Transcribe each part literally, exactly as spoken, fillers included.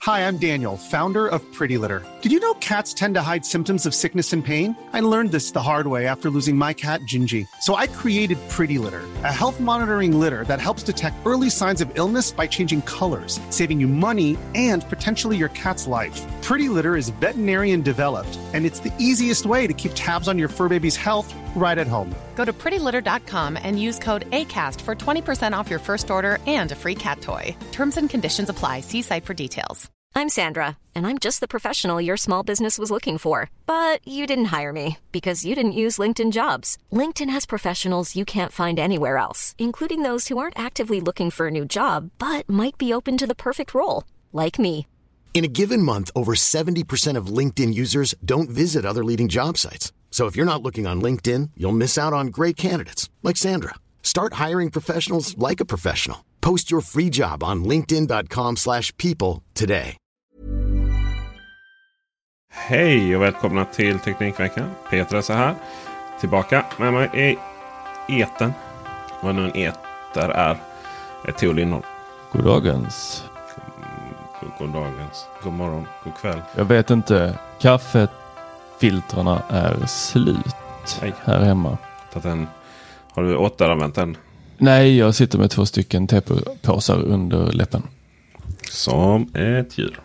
Hi, I'm Daniel, founder of Pretty Litter. Did you know cats tend to hide symptoms of sickness and pain? I learned this the hard way after losing my cat, Gingy. So I created Pretty Litter, a health monitoring litter that helps detect early signs of illness by changing colors, saving you money and potentially your cat's life. Pretty Litter is veterinarian developed, and it's the easiest way to keep tabs on your fur baby's health right at home. Go to pretty litter dot com and use code ACAST for twenty percent off your first order and a free cat toy. Terms and conditions apply. See site for details. I'm Sandra, and I'm just the professional your small business was looking for. But you didn't hire me because you didn't use LinkedIn Jobs. LinkedIn has professionals you can't find anywhere else, including those who aren't actively looking for a new job, but might be open to the perfect role, like me. In a given month, over seventy percent of LinkedIn users don't visit other leading job sites. So if you're not looking on LinkedIn, you'll miss out on great candidates like Sandra. Start hiring professionals like a professional. Post your free job on linkedin dot com slash people today. Hej och välkomna till Teknikveckan. Peter är så här. Tillbaka med mig i eten. Vad nu en eter är. Ett till innehåll. Goddagens. God, goddagens. God morgon. God kväll. Jag vet inte. Kaffefiltrarna är slut. Nej. Här hemma. Den, har du återanvänt den? Nej, jag sitter med två stycken tepåsar under läppen. Som ett djur.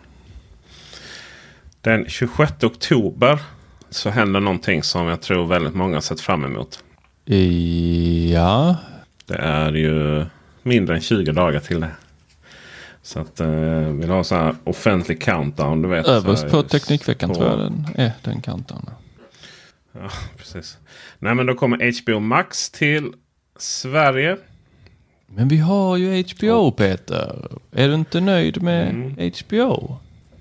Den tjugosjätte oktober så händer någonting som jag tror väldigt många har sett fram emot. Ja. Det är ju mindre än tjugo dagar till det. Så att eh, vill ha så här offentlig countdown, du vet. Överst på Teknikveckan på... tror jag den är den countdown. Ja, precis. Nej, men då kommer H B O Max till Sverige. Men vi har ju H B O, Peter. Är du inte nöjd med mm. H B O?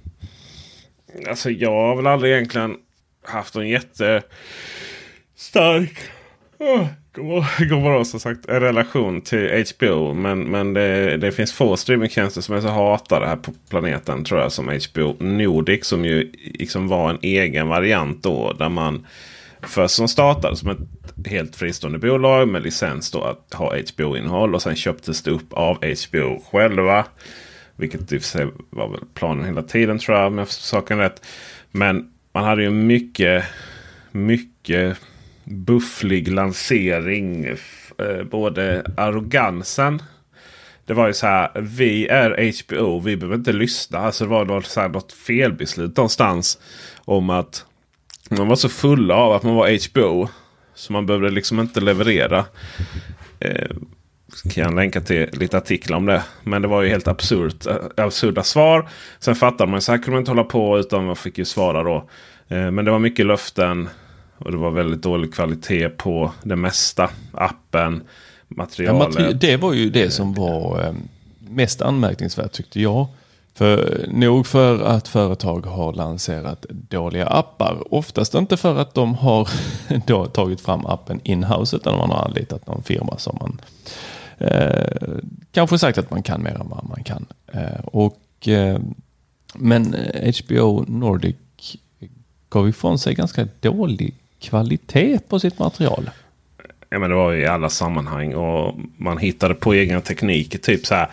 Alltså jag har väl aldrig egentligen haft en jättestark oh, god morgon, som sagt, en relation till H B O. Men, men det, det finns få streamingtjänster som är så hatade här på planeten, tror jag, som H B O Nordic, som ju liksom var en egen variant då, där man först som startade som ett helt fristående bolag med licens då att ha H B O-innehåll, och sen köptes det upp av H B O själva. Vilket i och för sig var väl planen hela tiden, tror jag, med saken rätt. Men man hade ju mycket, mycket bufflig lansering. Eh, både arrogansen. Det var ju så här, vi är H B O, vi behöver inte lyssna. Alltså det var något, så här, något felbeslut någonstans om att man var så full av att man var H B O. Så man behövde liksom inte leverera. Eh, kan jag länka till lite artiklar om det. Men det var ju helt absurt, absurda svar. Sen fattade man så här kunde man inte hålla på, utan man fick ju svara då. Eh, men det var mycket löften. Och det var väldigt dålig kvalitet på det mesta. Appen, materialet. Ja, materi- det var ju det som var eh, mest anmärkningsvärt, tyckte jag. För nog för att företag har lanserat dåliga appar. Oftast inte för att de har då tagit fram appen in-house, utan man har anlitat någon firma som man eh, kanske sagt att man kan mer än vad man kan. Eh, och, eh, men H B O Nordic gav ifrån sig ganska dålig kvalitet på sitt material. Ja, men det var ju i alla sammanhang, och man hittade på egna tekniker, typ så här.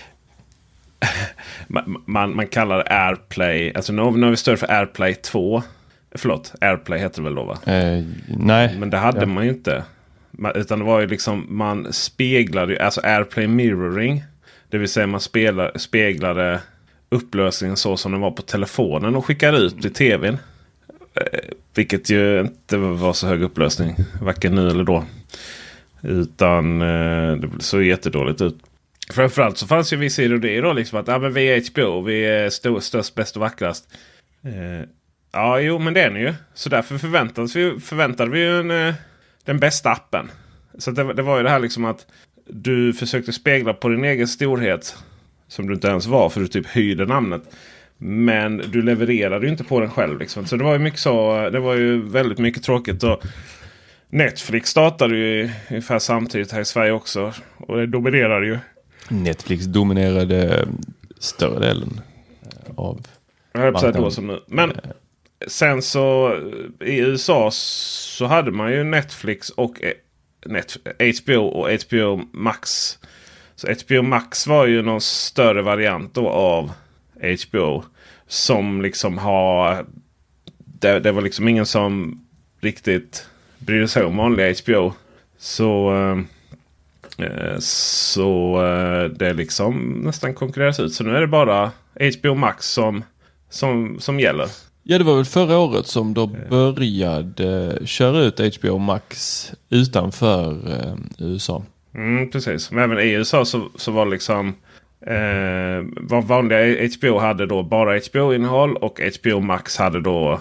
Man, man, man kallar det AirPlay. Alltså nu, nu har vi större för AirPlay två. Förlåt, AirPlay heter det väl då, va? Eh, nej. Men det hade ja. man ju inte. Man, utan det var ju liksom, man speglade ju, alltså AirPlay mirroring. Det vill säga man spelar, speglade upplösningen så som den var på telefonen och skickade ut i tvn. Eh, vilket ju inte var så hög upplösning, varken nu eller då. Utan eh, det såg jättedåligt ut. Framförallt så fanns ju vissa idéer då, liksom att ja, men vi är H B O, vi är stor, störst, bäst och vackrast. Eh, ja, jo, men det är ni ju. Så därför förväntade vi, förväntade vi ju en, eh, den bästa appen. Så det, det var ju det här liksom att du försökte spegla på din egen storhet, som du inte ens var, för du typ höjde namnet. Men du levererade ju inte på den själv liksom. Så det var ju mycket så, det var ju väldigt mycket tråkigt. Och Netflix startade ju ungefär samtidigt här i Sverige också, och det dominerade ju. Netflix dominerade större delen av marknaden. Som nu. Men sen så i U S A så hade man ju Netflix och Net, H B O och H B O Max. Så H B O Max var ju någon större variant då av H B O. Som liksom har... Det, det var liksom ingen som riktigt brydde sig om vanliga H B O. Så... Eh, så eh, det liksom nästan konkurreras ut. Så nu är det bara H B O Max som, som, som gäller. Ja, det var väl förra året som de började köra ut H B O Max utanför eh, U S A. Mm, precis. Men även i U S A så, så var liksom eh, vad vanliga H B O hade då bara H B O-innehåll och H B O Max hade då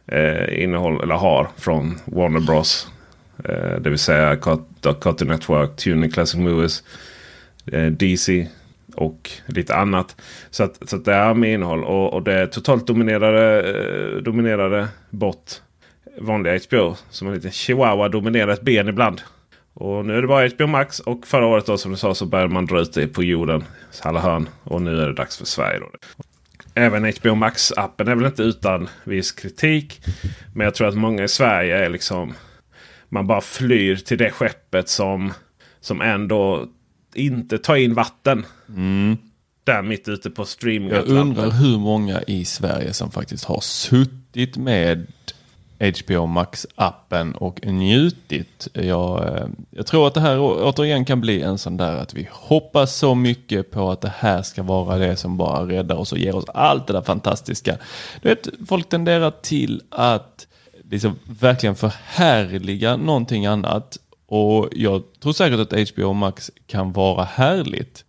eh, innehåll eller har från Warner Bros. Eh, det vill säga Cartoon Network, Tuning Classic Movies, eh, D C och lite annat. Så att, så att det är med innehåll. Och, och det totalt dominerade, eh, dominerade bort vanliga H B O. Som en liten chihuahua dominerar ett ben ibland. Och nu är det bara H B O Max. Och förra året då, som du sa, så började man dra ut det på jorden. Alla hörn. Och nu är det dags för Sverige då. Även H B O Max-appen är väl inte utan viss kritik. Men jag tror att många i Sverige är liksom... Man bara flyr till det skeppet som, som ändå inte tar in vatten. Mm. Där mitt ute på streaming. Jag undrar hur många i Sverige som faktiskt har suttit med H B O Max-appen och njutit. Jag, jag tror att det här återigen kan bli en sån där att vi hoppas så mycket på att det här ska vara det som bara räddar oss och ger oss allt det där fantastiska. Du vet, folk tenderar till att liksom verkligen förhärliga någonting annat. Och jag tror säkert att H B O Max kan vara härligt.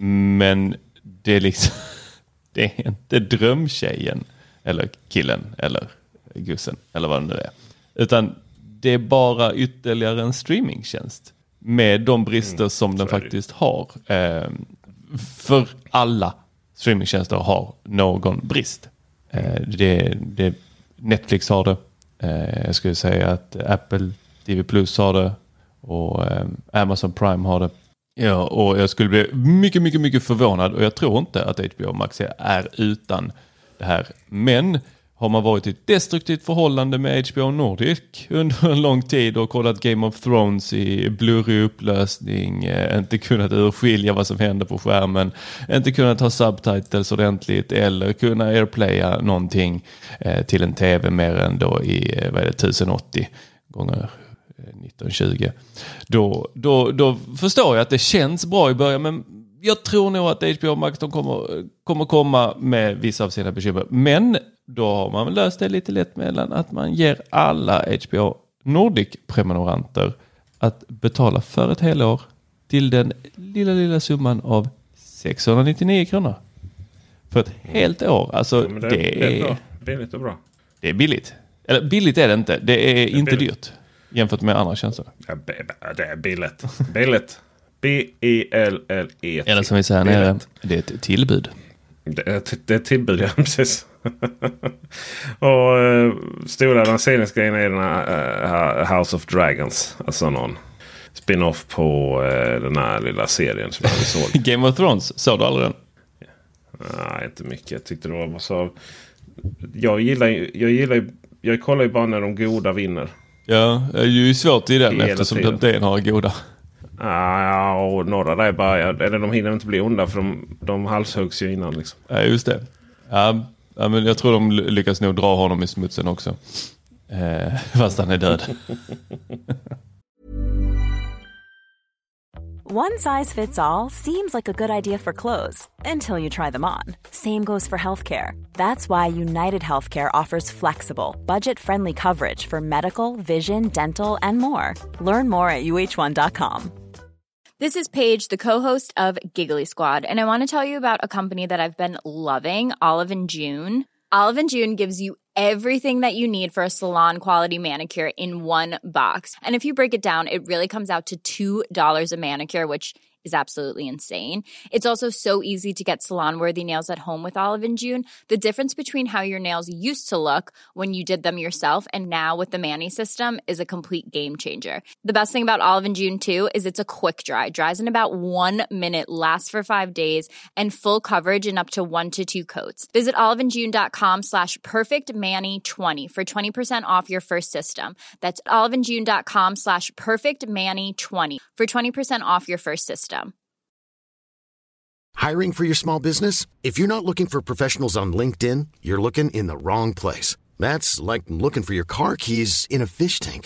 Men det är liksom det är inte drömtjejen eller killen eller gussen eller vad det nu är. Utan det är bara ytterligare en streamingtjänst med de brister mm, som den faktiskt har. Eh, för alla streamingtjänster har någon brist. Eh, det, det, Netflix har det. Eh, jag skulle säga att Apple T V Plus har det och eh, Amazon Prime har det. Ja, och jag skulle bli mycket, mycket, mycket förvånad och jag tror inte att H B O Max är utan det här. Men har man varit i ett destruktivt förhållande med H B O Nordic under en lång tid och kollat Game of Thrones i blurrig upplösning, eh, inte kunnat urskilja vad som händer på skärmen, inte kunnat ha subtitles ordentligt eller kunna airplaya någonting eh, till en tv mer än då i eh, vad är det, tusen åttio gånger nitton tjugo. Då, då, då förstår jag att det känns bra i början, men jag tror nog att H B O Max de kommer, kommer komma med vissa av sina bekymmer. Men då har man löst det lite lätt mellan att man ger alla H B O Nordic-prenumeranter att betala för ett helår till den lilla, lilla summan av sexhundranittionio kronor. För ett helt år. Alltså, ja, det, det, det är är billigt och bra. Det är billigt. Eller billigt är det inte. Det är, det är inte billigt. Dyrt jämfört med andra tjänster. Ja, det är billigt. Billigt. B E L L E. Eller som vi säger nere, det är ett tillbud. Det är, det är ett tillbud, ja, precis. Och uh, stora lanseringsgrejen är den här uh, House of Dragons. Alltså någon spin-off på uh, den här lilla serien som jag såg. Game of Thrones, såg du aldrig den? Nej, inte mycket. Jag tyckte det var så... Jag gillar jag gillar jag kollar ju bara när de goda vinner. Ja, det är ju svårt i den eftersom tiden. de har goda. Ja, och några där är bara... Eller de hinner inte bli onda för de, de halshuggs ju innan liksom. Ja, just det. Ja, ja, men jag tror de lyckas nog dra honom i smutsen också. Eh, fast han är död. One size fits all seems like a good idea for clothes until you try them on. Same goes for healthcare. That's why United Healthcare offers flexible, budget-friendly coverage for medical, vision, dental, and more. Learn more at U H one dot com. This is Paige, the co-host of Giggly Squad, and I want to tell you about a company that I've been loving, Olive and June. Olive and June gives you everything that you need for a salon-quality manicure in one box. And if you break it down, it really comes out to two dollars a manicure, which is absolutely insane. It's also so easy to get salon-worthy nails at home with Olive and June. The difference between how your nails used to look when you did them yourself and now with the Mani system is a complete game changer. The best thing about Olive and June, too, is it's a quick dry. Dries in about one minute, lasts for five days, and full coverage in up to one to two coats. Visit oliveandjune.com slash perfectmani20 for twenty percent off your first system. That's oliveandjune.com slash perfectmani20 for twenty percent off your first system. Hiring for your small business? If you're not looking for professionals on LinkedIn, you're looking in the wrong place. That's like looking for your car keys in a fish tank.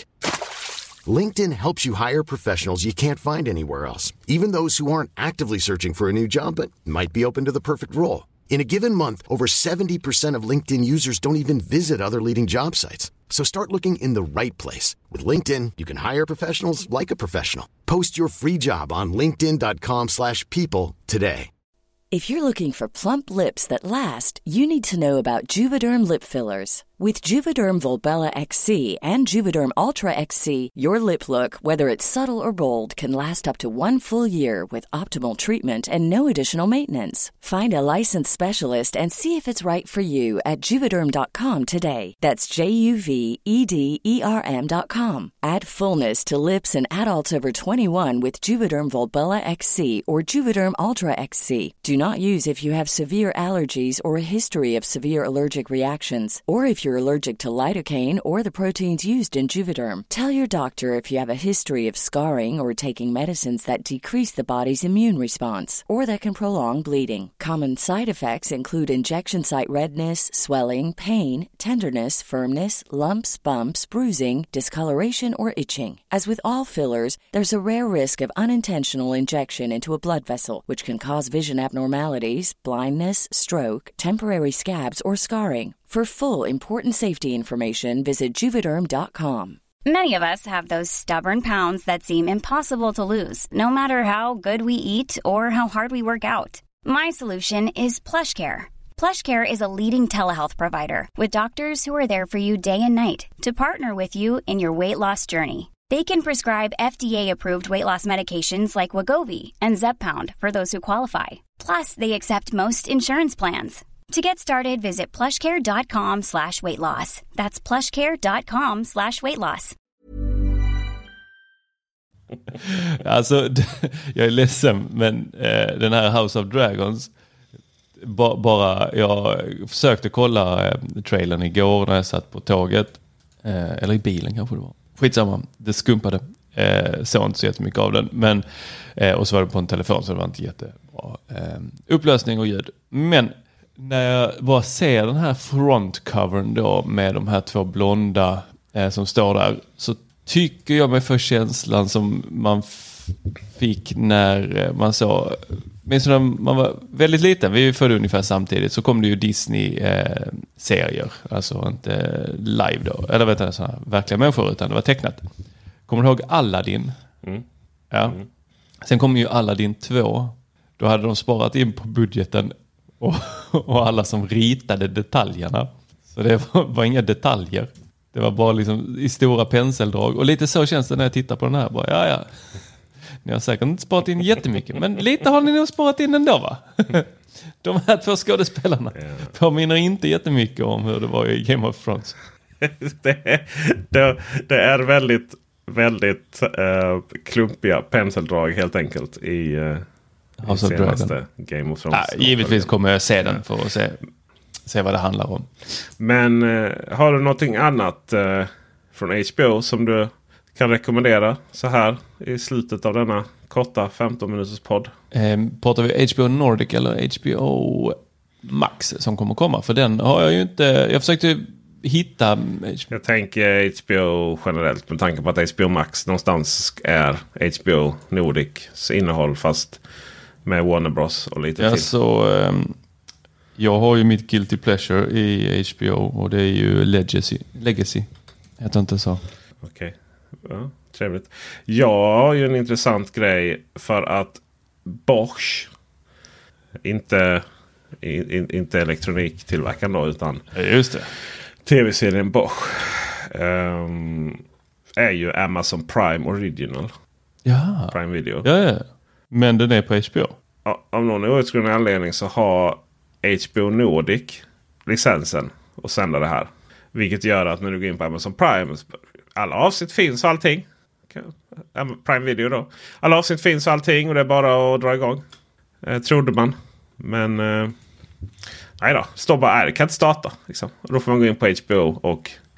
LinkedIn helps you hire professionals you can't find anywhere else, even those who aren't actively searching for a new job but might be open to the perfect role. In a given month, over seventy percent of LinkedIn users don't even visit other leading job sites. So start looking in the right place. With LinkedIn, you can hire professionals like a professional. Post your free job on linkedin dot com slash people today. If you're looking for plump lips that last, you need to know about Juvederm lip fillers. With Juvederm Volbella X C and Juvederm Ultra X C, your lip look, whether it's subtle or bold, can last up to one full year with optimal treatment and no additional maintenance. Find a licensed specialist and see if it's right for you at juvederm dot com today. That's J U V E D E R M dot com. Add fullness to lips in adults over twenty-one with Juvederm Volbella X C or Juvederm Ultra X C. Do not use if you have severe allergies or a history of severe allergic reactions, or if you're allergic to lidocaine or the proteins used in Juvederm. Tell your doctor if you have a history of scarring or taking medicines that decrease the body's immune response or that can prolong bleeding. Common side effects include injection site redness, swelling, pain, tenderness, firmness, lumps, bumps, bruising, discoloration, or itching. As with all fillers, there's a rare risk of unintentional injection into a blood vessel, which can cause vision abnormalities, blindness, stroke, temporary scabs, or scarring. For full, important safety information, visit juvederm dot com. Many of us have those stubborn pounds that seem impossible to lose, no matter how good we eat or how hard we work out. My solution is PlushCare. PlushCare is a leading telehealth provider with doctors who are there for you day and night to partner with you in your weight loss journey. They can prescribe F D A-approved weight loss medications like Wegovy and Zepbound for those who qualify. Plus, they accept most insurance plans. To get started, visit plushcare.com slash weight loss. That's plushcare.com slash weight loss. Alltså, jag är ledsen, men eh, den här House of Dragons, ba, bara, jag försökte kolla eh, trailern igår när jag satt på tåget, eh, eller i bilen kanske det var. Skitsamma, det skumpade. Eh, såg inte så jättemycket av den, men, eh, och så var det på en telefon så det var inte jättebra eh, upplösning och ljud. Men när jag bara ser den här frontcovern då med de här två blonda eh, som står där, så tycker jag mig för känslan som man f- fick när man såg, minns när man var väldigt liten, vi är ju födda ungefär samtidigt, så kom det ju Disney-serier, eh, alltså inte live då, eller vet jag, sådana verkliga människor, utan det var tecknat. Kommer du ihåg Aladdin? Mm. Ja. Mm. Sen kom ju Aladdin två, då hade de sparat in på budgeten och, och alla som ritade detaljerna. Så det var, var inga detaljer. Det var bara liksom i stora penseldrag. Och lite så känns det när jag tittar på den här. Bara, ja, ja. Ni har säkert inte sparat in jättemycket, men lite har ni nog sparat in ändå, va? De här två skådespelarna påminner inte jättemycket om hur det var i Game of Thrones. det, det, det är väldigt, väldigt uh, klumpiga penseldrag helt enkelt i... Uh... House of Dragon. Game of Thrones. Ja, givetvis kommer jag se den för att se, se vad det handlar om. Men eh, har du någonting annat eh, från H B O som du kan rekommendera så här i slutet av denna korta femton minuters podd? Eh, pratar vi H B O Nordic eller H B O Max som kommer komma? För den har jag ju inte... Jag försökte hitta... Jag tänker H B O generellt med tanke på att H B O Max någonstans är H B O Nordics innehåll fast... med Warner Bros och lite ja, till. Så, um, jag har ju mitt guilty pleasure i H B O och det är ju Legacy. Legacy. Jag tror inte så. Okej. Okay. Ja, trevligt. Jag har ju en intressant grej för att Bosch, inte, in, inte elektroniktillverkaren då, utan just det. tv-serien Bosch um, är ju Amazon Prime Original. Ja. Prime Video. Ja, ja. Men den är på H B O. Ja, av någon outgrundlig anledning så har H B O Nordic licensen att sända det här. Vilket gör att när du går in på Amazon Prime, alla avsnitt finns och allting. Prime Video då. Alla avsnitt finns och allting och det är bara att dra igång. Eh, trodde man. Men eh, nej då, står bara är det kan inte starta. Liksom. Och då får man gå in på H B O och,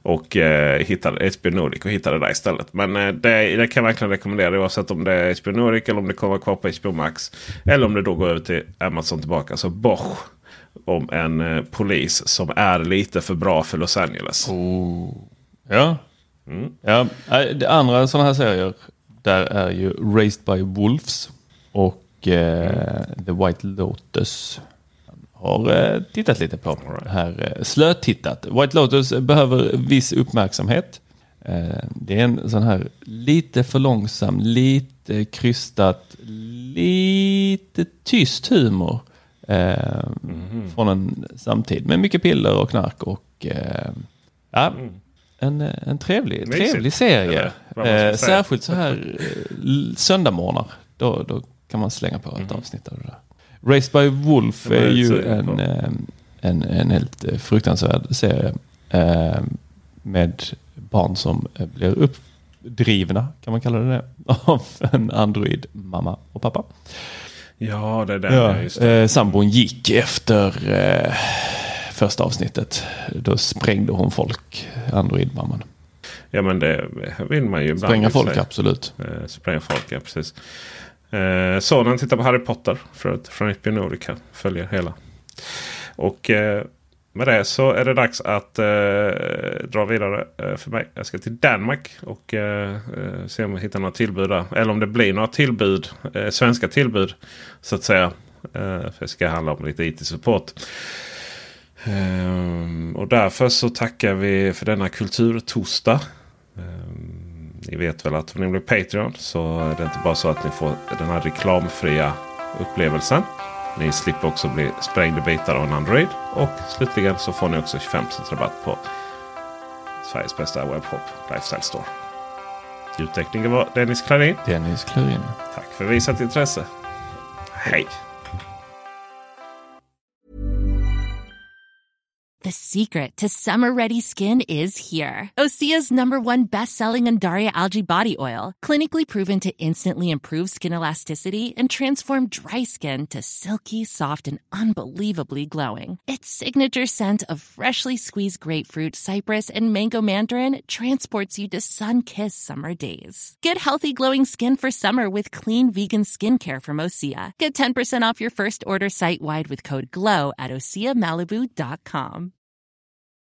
Och eh, hittade H B O Nordic och hittade det där istället. Men eh, det, det kan jag verkligen rekommendera, oavsett om det är H B O Nordic eller om det kommer kvar på H B O Max. Eller om det då går över till Amazon tillbaka. Så Bosch om en eh, polis som är lite för bra för Los Angeles. Oh. Ja. Mm. Ja. Det andra sådana här serier, där är ju Raised by Wolves och eh, mm. The White Lotus. Har eh, tittat lite på right. här. Eh, slötittat. White Lotus behöver viss uppmärksamhet. Eh, det är en sån här lite för långsam, lite krystat, lite tyst humor. Eh, mm. Från en samtid med mycket piller och knark och eh, ja, mm. en, en trevlig, trevlig serie. Eh, särskilt så här eh, söndagmorgnar. Då, då kan man slänga på ett mm. avsnitt av det där. Raised by Wolf är ju en, en, en helt fruktansvärd serie eh, med barn som blir uppdrivna, kan man kalla det, av en android mamma och pappa. Ja, det är det. Ja, just det. Eh, sambon gick efter eh, första avsnittet. Då sprängde hon folk, android-mamman. Ja, men det vill man ju ibland. Spränga folk, sig. Absolut. Eh, spränga folk, ja, precis. Eh, Sonen tittar på Harry Potter för, från H B O Nordic här. Följer hela. Och eh, med det så är det dags att eh, dra vidare eh, för mig. Jag ska till Danmark och eh, se om vi hittar några tillbud där. Eller om det blir några tillbud, eh, svenska tillbud så att säga. Eh, för det ska handla om lite I T-support. Eh, och därför så tackar vi för denna kulturtorsdag. Eh, Ni vet väl att om ni blir Patreon så är det inte bara så att ni får den här reklamfria upplevelsen. Ni slipper också bli sprängda bitar av en Android. Och slutligen så får ni också tjugofem procent rabatt på Sveriges bästa webbshop, Lifestyle Store. Ljudtekniker var Dennis Klarin. Dennis Klarin. Tack för visat intresse. Hej! The secret to summer-ready skin is here. Osea's number one best-selling Undaria Algae Body Oil. Clinically proven to instantly improve skin elasticity and transform dry skin to silky, soft, and unbelievably glowing. Its signature scent of freshly squeezed grapefruit, cypress, and mango mandarin transports you to sun-kissed summer days. Get healthy, glowing skin for summer with clean vegan skincare from Osea. Get ten percent off your first order site-wide with code GLOW at osea malibu dot com.